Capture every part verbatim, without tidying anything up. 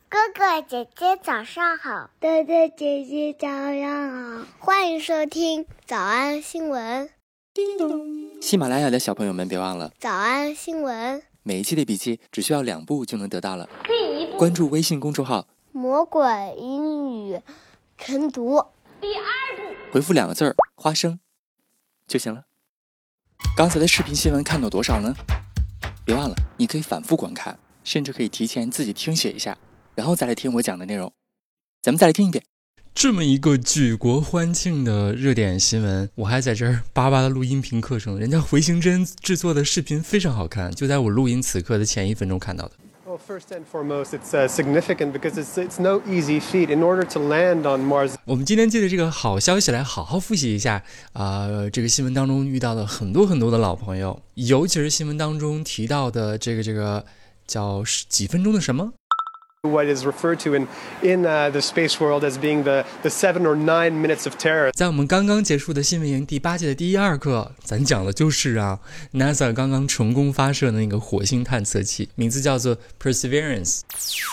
哥哥姐姐早上好， 哥哥姐姐早上好， 欢迎收听早安新闻。 叮咚！喜马拉雅的小朋友们别忘了早安新闻， 每一期的笔记只需要两步就能得到了。 第一步， 关注微信公众号魔鬼英语晨读。第二步， 回复两个字儿花生就行了。刚才的视频新闻看到多少呢？别忘了你可以反复观看，甚至可以提前自己听写一下，然后再来听我讲的内容。咱们再来听一遍。这么一个举国欢庆的热点新闻，我还在这儿巴巴的录音频课程，人家回形针制作的视频非常好看，就在我录音此刻的前一分钟看到的。 Well, first and foremost, it's uh, significant because it's it's no easy feat. In order to land on Mars, 我们今天借着这个好消息来好好复习一下啊、呃，这个新闻当中遇到的很多很多的老朋友，尤其是新闻当中提到的这个这个叫几分钟的什么。 what is referred to in in uh, the space world as being the the seven or nine minutes of terror. 在我们刚刚结束的新闻营第八届的第一二课，咱讲的就是啊 NASA 刚刚成功发射的那个火星探测器，名字叫做 Perseverance。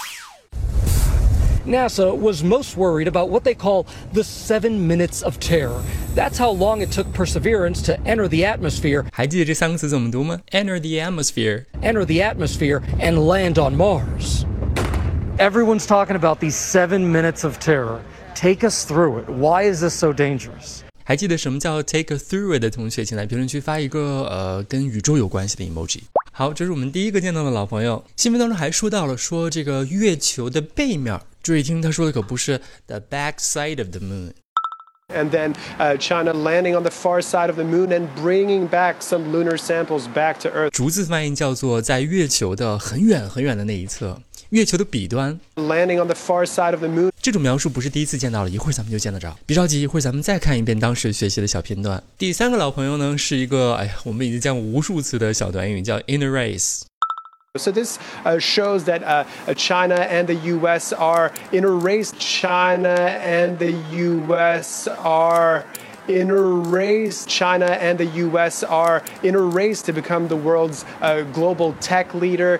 NASA was most worried about what they call the seven minutes of terror. That's how long it took Perseverance to enter the atmosphere. 还记得这三个词怎么读吗？ Enter the atmosphere. Enter the atmosphere and land on Mars.Everyone's talking about these seven minutes of terror. Take us through it. Why is this so dangerous? 还记得什么叫 take a through it 的同学，请在评论区发一个呃跟宇宙有关系的 emoji。 好，这是我们第一个见到的老朋友。新闻当中还说到了说这个月球的背面，注意听，他说的可不是 the back side of the moon。And then uh, China landing on the far side of the moon and bringing back some lunar samples back to Earth. 逐字翻译叫做在月球的很远很远的那一侧，月球的彼端。 Landing on the far side of the moon. 这种描述不是第一次见到了，一会儿咱们就见得着。别着急，一会儿咱们再看一遍当时学习的小片段。第三个老朋友呢，是一个哎呀，我们已经见过无数次的小短语，叫 in a race。So this uh, shows that uh, China and the U S are in a race. China and the U S are in a race. China and the U S are in a race to become the world's uh, global tech leader.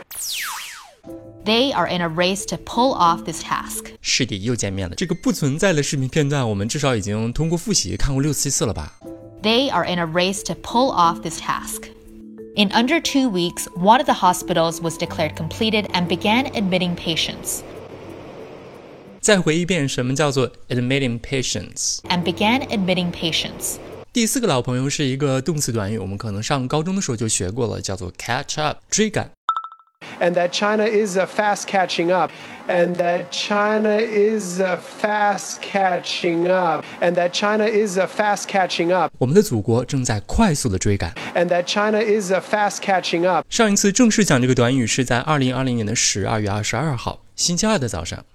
They are in a race to pull off this task. 是的，又见面了。这个不存在的视频片段，我们至少已经通过复习看过六七次了吧？ They are in a race to pull off this task.In under two weeks, one of the hospitals was declared completed and began admitting patients. 再回一遍，什么叫做 admitting patients? And began admitting patients. 第四个老朋友是一个动词短语，我们可能上高中的时候就学过了，叫做 catch up， 追赶。 And that China is uh, fast catching up. And that China is uh, fast catching up. And that China is uh, fast catching up. 我们的祖国正在快速的追赶。 And that China is uh, fast catching up. 上一次正式讲这个短语是在二零二零年的十二月二十二号，星期二的早上。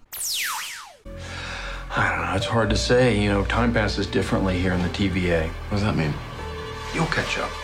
I don't know, it's hard to say. You know, time passes differently here in the T V A. What does that mean? You'll catch up.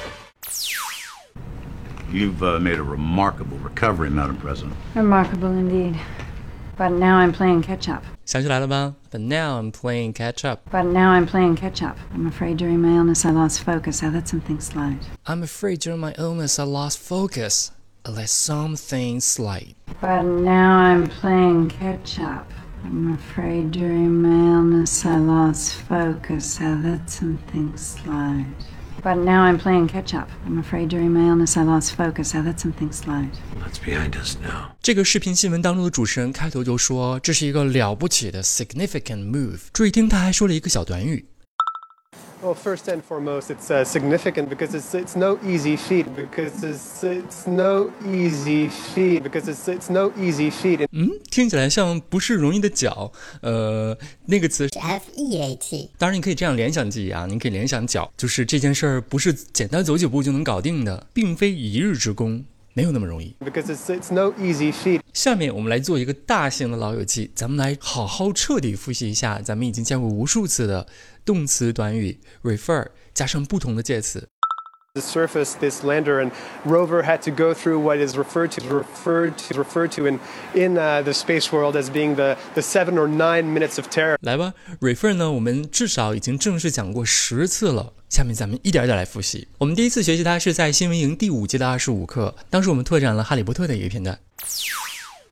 You've uh, made a remarkable recovery, Madam President. Remarkable indeed. But now I'm playing catch-up. 想起来了吧？ But now I'm playing catch-up. But now I'm playing catch-up. I'm afraid during my illness I lost focus. I let something slide. I'm afraid during my illness I lost focus. I let something slide. But now I'm playing catch-up. I'm afraid during my illness I lost focus. I let something slide.But now I'm playing catch-up. I'm afraid during my illness I lost focus. I let something slide. That's behind us now. 这个视频新闻当中的主持人开头就说，这是一个了不起的 significant move。注意听，他还说了一个小短语。 Well, first and foremost, it's uh, significant because it's it's no easy feat. Because it's it's no easy feat. Because it's it's no easy feat. 嗯，听起来像不是容易的脚。呃，那个词是 F E A T。 当然，你可以这样联想记忆啊，你可以联想脚，就是这件事儿不是简单走几步就能搞定的，并非一日之功。没有那么容易。 Because it's it's no easy feat. 下面我们来做一个大型的老友记，咱们来好好彻底复习一下咱们已经见过无数次的动词短语 refer 加上不同的介词。 The surface, this lander and rover had to go through what is referred to referred to referred to in in uh, the space world as being the the seven or nine minutes of terror. 来吧 ，refer 呢，我们至少已经正式讲过十次了。下面咱们一点点来复习。我们第一次学习它是在新闻营第五季的二十五课，当时我们拓展了哈利波特的一个片段。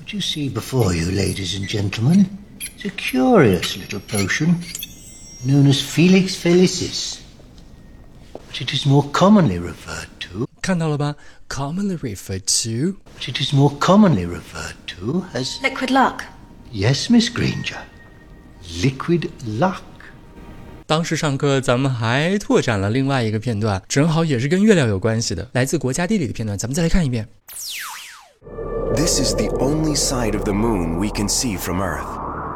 What you see before you, ladies and gentlemen, is a curious little potion known as Felix Felicis. But it is more commonly referred to. 看到了吧 ？Commonly referred to. But it is more commonly referred to as liquid luck. Yes, Miss Granger. Liquid luck. 当时上课咱们还拓展了另外一个片段，正好也是跟月亮有关系的，来自国家地理的片段，咱们再来看一遍。 This is the only side of the moon we can see from Earth.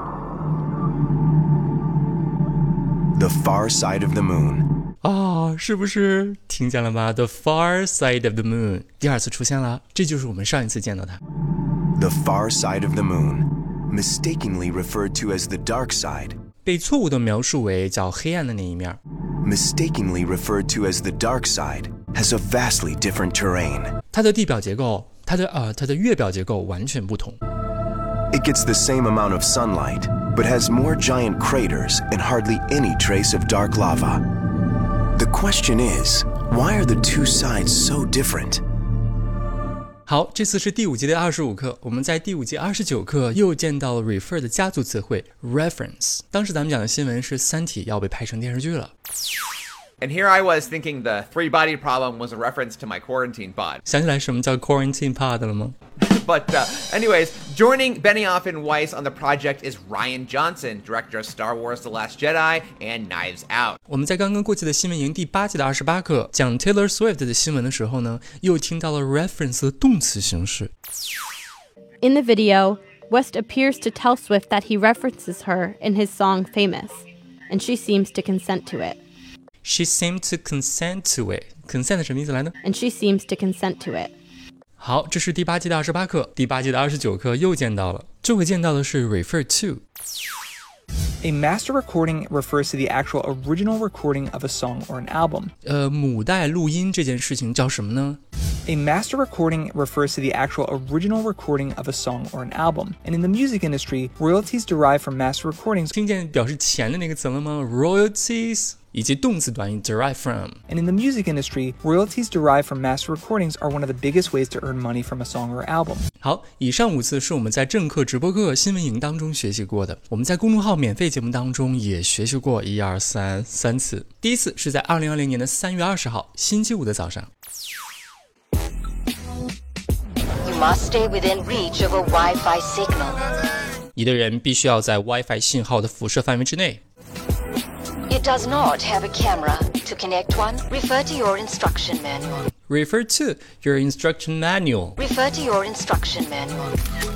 The far side of the moon. 啊，是不是听见了吗 ？The far side of the moon 第二次出现了，这就是我们上一次见到它。 The far side of the moon, mistakenly referred to as the dark side. 被错误地描述为较黑暗的那一面。 Mistakenly referred to as the dark side has a vastly different terrain. 它的地表结构，它的呃，它的月表结构完全不同。 It gets the same amount of sunlight, but has more giant craters and hardly any trace of dark lava. The question is, why are the two sides so different? 好，这次是第五集的二十五课，我们在第五集二十九课又见到了 refer 的家族词汇 reference。当时咱们讲的新闻是《三体》要被拍成电视剧了。 And here I was thinking the three-body problem was a reference to my quarantine pod. 想起来什么叫 quarantine pod 了吗？ But uh, anyways, joining Benioff and Weiss on the project is Rian Johnson, director of Star Wars The Last Jedi and Knives Out. 我们在刚刚过去的新闻营第八季的二十八课讲 Taylor Swift 的新闻的时候呢，又听到了 reference 的动词形式。 In the video, West appears to tell Swift that he references her in his song Famous, and she seems to consent to it. She seemed to consent to it. Consent 什么意思来呢？ And she seems to consent to it. 好，这是第八季的二十八课，第八季的二十九课又见到了，这回见到的是 refer to。 A master recording refers to the actual original recording of a song or an album. 呃，母带录音这件事情叫什么呢？ A master recording refers to the actual original recording of a song or an album. And in the music industry, royalties derive from master recordings. 听见表示钱的那个词了吗 ？Royalties 以及动词短语 derive from. And in the music industry, royalties derived from master recordings are one of the biggest ways to earn money from a song or album. 好，以上五次是我们在正课、直播课、新闻营当中学习过的，我们在公众号免费节目当中也学习过一二三三次。第一次是在二零二零年的三月二十号星期五的早上。 You must stay within reach of a Wi-Fi signal. 一个人必须要在 Wi-Fi 信号的辐射范围之内。 It does not have a camera. To connect one, refer to your instruction manual. Refer to your instruction manual. Refer to your instruction manual.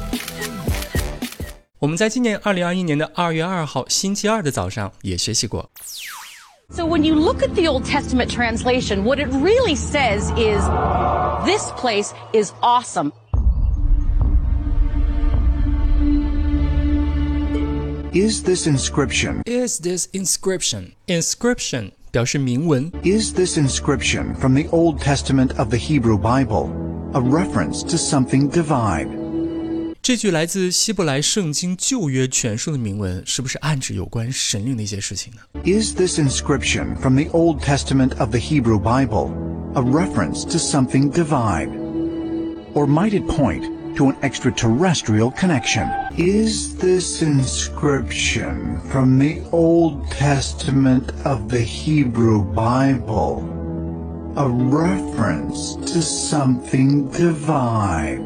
我们在今年二零二一年的二月二号星期二的早上也学习过。 So when you look at the Old Testament translation, what it really says is, this place is awesome. Is this inscription? Is this inscription? Inscription 表示铭文。 Is this inscription from the Old Testament of the Hebrew Bible? A reference to something divine. 这句来自希伯来圣经旧约全书的铭文，是不是暗指有关神灵的一些事情呢？ Is this inscription from the Old Testament of the Hebrew Bible? A reference to something divine. Or might it point to an extraterrestrial connection? Is this inscription from the Old Testament of the Hebrew Bible a reference to something divine?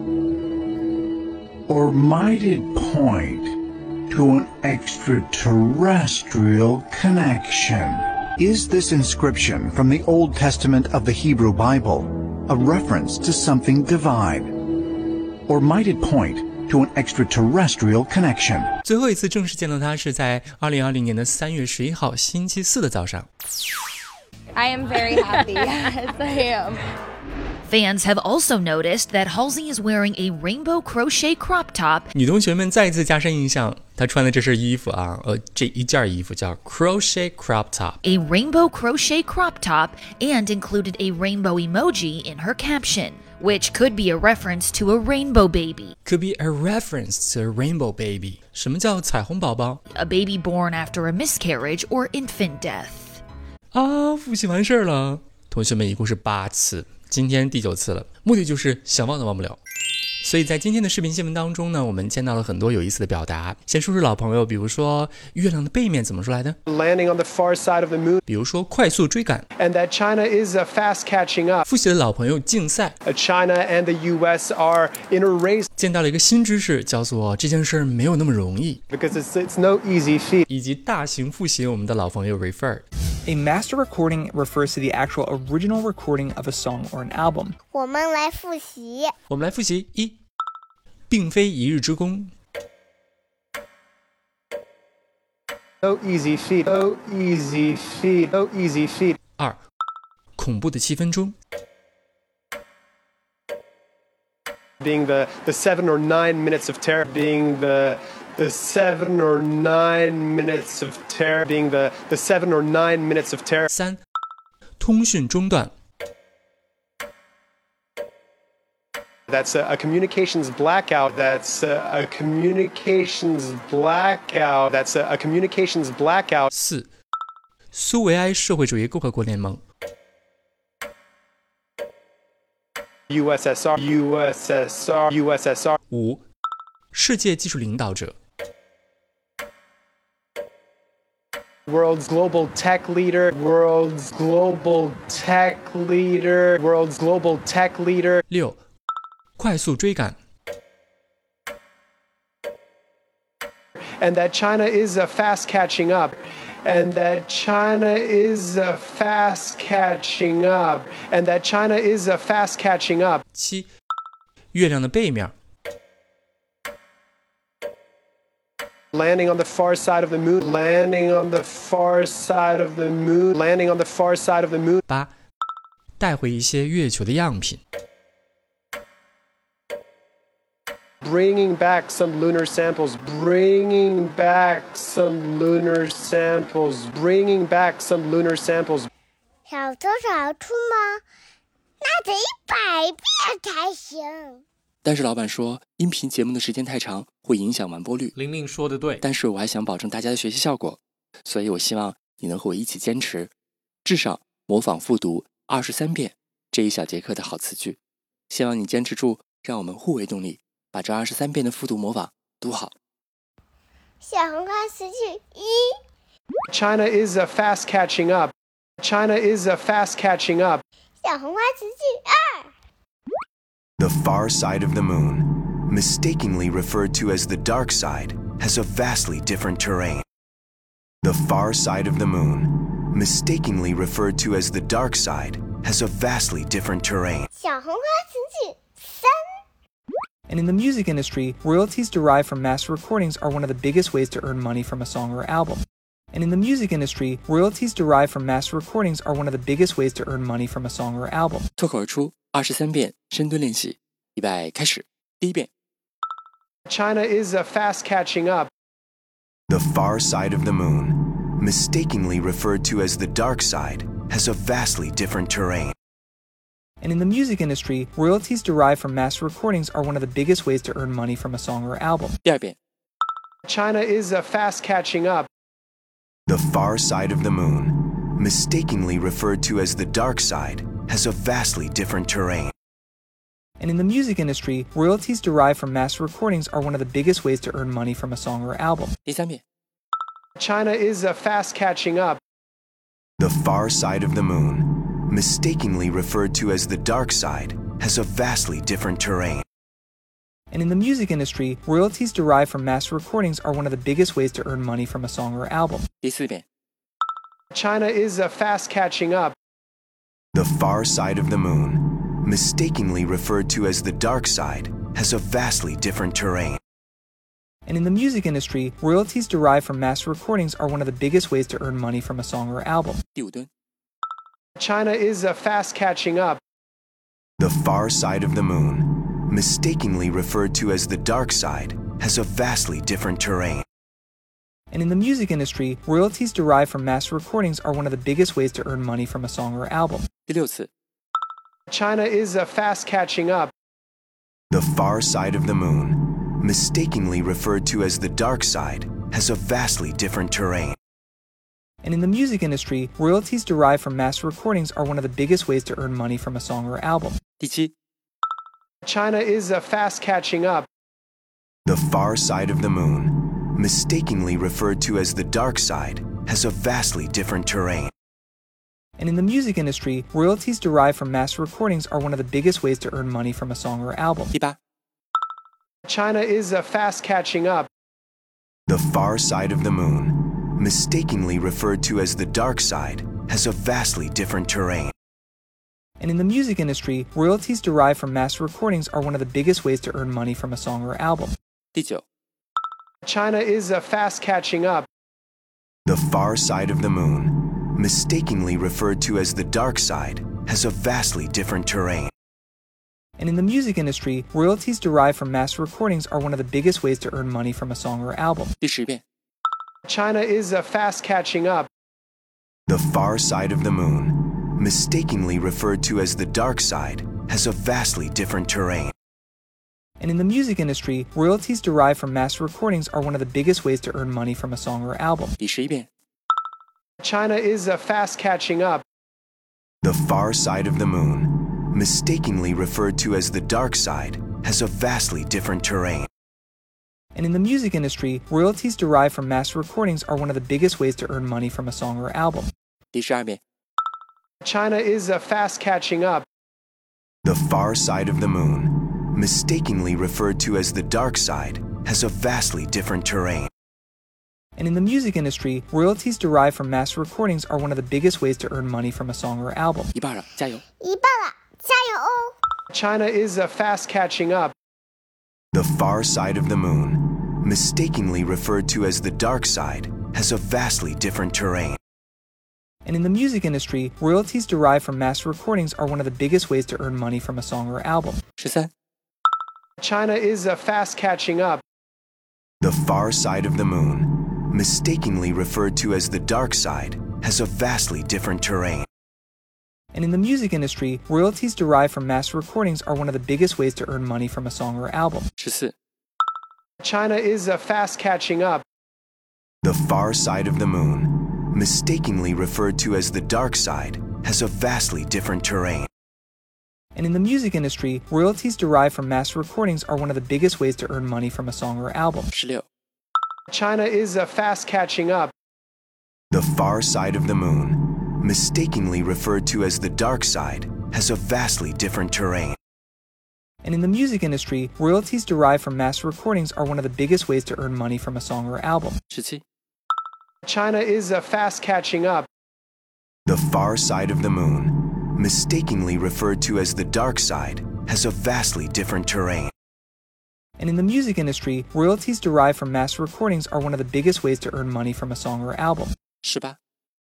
Or might it point to an extraterrestrial connection? Is this inscription from the Old Testament of the Hebrew Bible a reference to something divine? Or might it point to an extraterrestrial connection? 最后一次正式见到他是在二零二零年的三月十一号星期四的早上。 I am very happy. Yes, I am. Fans have also noticed that Halsey is wearing a rainbow crochet crop top. 女同学们再一次加深印象，她穿的这身衣服啊，呃，这一件衣服叫 crochet crop top. A rainbow crochet crop top and included a rainbow emoji in her caption, which could be a reference to a rainbow baby. Could be a reference to a rainbow baby. 什么叫彩虹宝宝？ A baby born after a miscarriage or infant death. 啊，复习完事儿了，同学们一共是八次。今天第九次了，目的就是想忘都忘不了。 所以在今天的视频新闻当中呢，我们见到了很多有意思的表达。先说说老朋友，比如说月亮的背面怎么说来的？ Landing on the far side of the moon. 比如说快速追赶。 And that China is fast catching up. 复习的老朋友竞赛。 China and the U S are in a race. 见到了一个新知识，叫做这件事没有那么容易。 Because it's, it's no easy feat. 以及大型复习我们的老朋友 referred。A master recording refers to the actual original recording of a song or an album. 我们来复习。 我们来复习一，并非一日之功。 No easy feat. No easy feat. No easy feat. 二，恐怖的七分钟。 Being the, the seven or nine minutes of terror. Being the the seven or nine minutes of terror. Being the the seven or nine minutes of terror. 三，通讯中断。 That's a, a communications blackout. That's a, a communications blackout. That's a, a communications blackout. 四，苏维埃社会主义共和国联盟。 U S S R. U S S R. U S S R. 五，世界技术领导者。 World's global tech leader. World's global tech leader. World's global tech leader. 六，快速追赶。 And that China is uh, fast catching up. And that China is uh, fast catching up. And that China is uh, fast catching up. 七，月亮的背面。 Landing on the far side of the moon. Landing on the far side of the moon. Landing on the far side of the moon. 八，带回一些月球的样品。 Bringing back some lunar samples. Bringing back some lunar samples. Bringing back some lunar samples. 小偷找出吗？那得一百遍才行。 但是老板说，音频节目的时间太长，会影响完播率。 玲玲说的对， 但是我还想保证大家的学习效果，所以我希望你能和我一起坚持，至少模仿复读二十三遍这一小节课的好词句。希望你坚持住，让我们互为动力。 把这二十三遍的复读模仿读好。 小红花词句一 China is uh, fast catching up. China is uh, fast catching up. 小红花词句二 The far side of the moon, mistakenly referred to as the dark side, has a vastly different terrain. The far side of the moon, mistakenly referred to as the dark side, has a vastly different terrain. 小红花词句三 And in the music industry, royalties derived from master recordings are one of the biggest ways to earn money from a song or album. And in the music industry, royalties derived from master recordings are one of the biggest ways to earn money from a song or album. 脱口而出二十三遍深蹲练习，预备开始。第一遍。 China is uh, fast catching up. The far side of the moon, mistakenly referred to as the dark side, has a vastly different terrain. And in the music industry, royalties derived from master recordings are one of the biggest ways to earn money from a song or album. 第二遍。 China is uh, fast catching up. The far side of the moon, mistakenly referred to as the dark side, has a vastly different terrain. And in the music industry, royalties derived from master recordings are one of the biggest ways to earn money from a song or album. 第三遍。 China is uh, fast catching up. The far side of the moon, mistakenly referred to as the dark side, has a vastly different terrain. And in the music industry, royalties derived from master recordings are one of the biggest ways to earn money from a song or album. 第四遍。 China is uh, fast catching up. The far side of the moon, mistakenly referred to as the dark side, has a vastly different terrain. And in the music industry, royalties derived from master recordings are one of the biggest ways to earn money from a song or album. 第五蹲。 China is uh, fast catching up. The far side of the moon, mistakenly referred to as the dark side, has a vastly different terrain. And in the music industry, royalties derived from master recordings are one of the biggest ways to earn money from a song or album. 第六次。 China is uh, fast catching up. The far side of the moon, mistakenly referred to as the dark side, has a vastly different terrain. And in the music industry, royalties derived from master recordings are one of the biggest ways to earn money from a song or album. 第七。 China is uh, fast catching up. The far side of the moon, mistakenly referred to as the dark side, has a vastly different terrain. And in the music industry, royalties derived from master recordings are one of the biggest ways to earn money from a song or album. 第八 China is uh, fast catching up. The far side of the moon, mistakenly referred to as the dark side, has a vastly different terrain. And in the music industry, royalties derived from master recordings are one of the biggest ways to earn money from a song or album. 第九 China is uh, fast catching up. The far side of the moon, mistakenly referred to as the dark side, has a vastly different terrain. And in the music industry, royalties derived from master recordings are one of the biggest ways to earn money from a song or album. 第十遍 China is uh, fast catching up. The far side of the moon, mistakenly referred to as the dark side, has a vastly different terrain. And in the music industry, royalties derived from master recordings are one of the biggest ways to earn money from a song or album. 第十一遍 China is uh, fast catching up. The far side of the moon, mistakenly referred to as the dark side, has a vastly different terrain. And in the music industry, royalties derived from master recordings are one of the biggest ways to earn money from a song or album. 第十二遍 China is uh, fast catching up. The far side of the moon, mistakenly referred to as the dark side, has a vastly different terrain. And in the music industry, royalties derived from master recordings are one of the biggest ways to earn money from a song or album. 一半了，加油！ 一半了，加油哦！ China is uh, fast catching up. The far side of the moon, mistakenly referred to as the dark side, has a vastly different terrain. And in the music industry, royalties derived from master recordings are one of the biggest ways to earn money from a song or album. 十三 China is uh, fast catching up. The far side of the moon, mistakenly referred to as the dark side, has a vastly different terrain. And in the music industry, royalties derived from master recordings are one of the biggest ways to earn money from a song or album. 十四 China is uh, fast catching up. The far side of the moon, mistakenly referred to as the dark side, has a vastly different terrain. And in the music industry, royalties derived from master recordings are one of the biggest ways to earn money from a song or album. 十六 China is uh, fast catching up. The far side of the moon, mistakenly referred to as the dark side, has a vastly different terrain. And in the music industry, royalties derived from master recordings are one of the biggest ways to earn money from a song or album. 十七 China is uh, fast catching up. The far side of the moon, mistakenly referred to as the dark side, has a vastly different terrain. And in the music industry, royalties derived from master recordings are one of the biggest ways to earn money from a song or album. 十八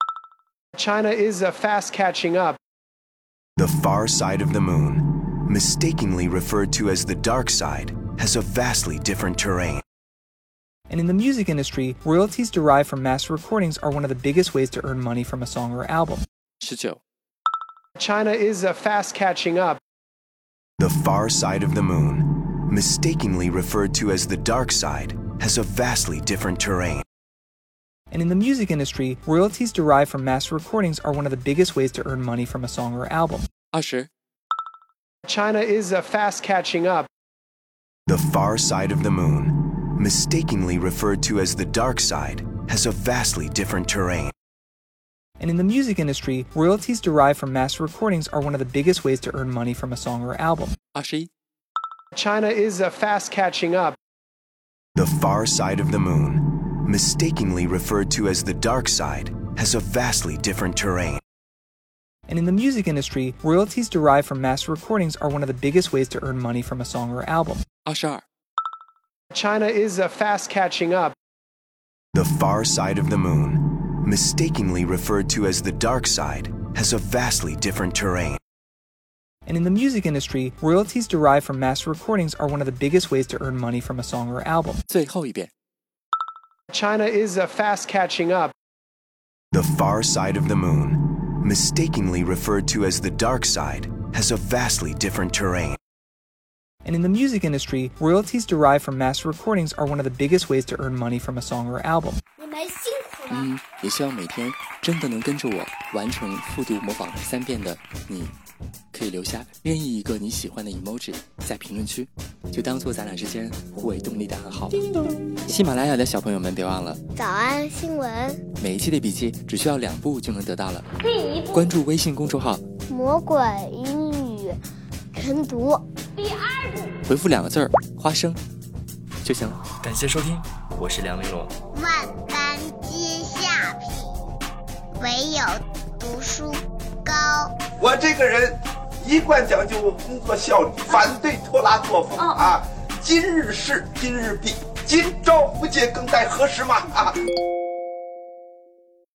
China is uh, fast catching up. The far side of the moon, mistakenly referred to as the dark side, has a vastly different terrain. And in the music industry, royalties derived from master recordings are one of the biggest ways to earn money from a song or album. 十九 China is uh, fast catching up. The far side of the moon, mistakenly referred to as the dark side, has a vastly different terrain. And in the music industry, royalties derived from master recordings are one of the biggest ways to earn money from a song or album. 二十 China is uh, fast catching up. The far side of the moon, mistakenly referred to as the dark side, has a vastly different terrain. And in the music industry, royalties derived from master recordings are one of the biggest ways to earn money from a song or album. 二十一 China is uh, fast catching up. The far side of the moon, mistakenly referred to as the dark side, has a vastly different terrain. And in the music industry, royalties derived from master recordings are one of the biggest ways to earn money from a song or album. 二十二 China is uh, fast catching up. The far side of the moon, mistakenly referred to as the dark side, has a vastly different terrain. And in the music industry, royalties derived from master recordings are one of the biggest ways to earn money from a song or album. 最后一遍 China is uh, fast catching up. The far side of the moon, mistakenly referred to as the dark side, has a vastly different terrain. And in the music industry, royalties derived from master recordings are one of the biggest ways to earn money from a song or album. 你们辛苦了。 嗯，也希望每天真的能跟着我完成复读模仿三遍的你， 可以留下任意一个你喜欢的 emoji 在评论区，就当做咱俩之间互为动力的暗号。喜马拉雅的小朋友们别忘了早安新闻， 每一期的笔记只需要两步就能得到了。 第一步， 关注微信公众号魔鬼英语晨读。第二步， 回复两个字儿花生就行了。感谢收听，我是梁玲珑。 万般皆下品，唯有读书高。 我这个人一贯讲究工作效率，反对拖拉作风、哦、啊！今日事今日毕，今朝不见更待何时嘛啊！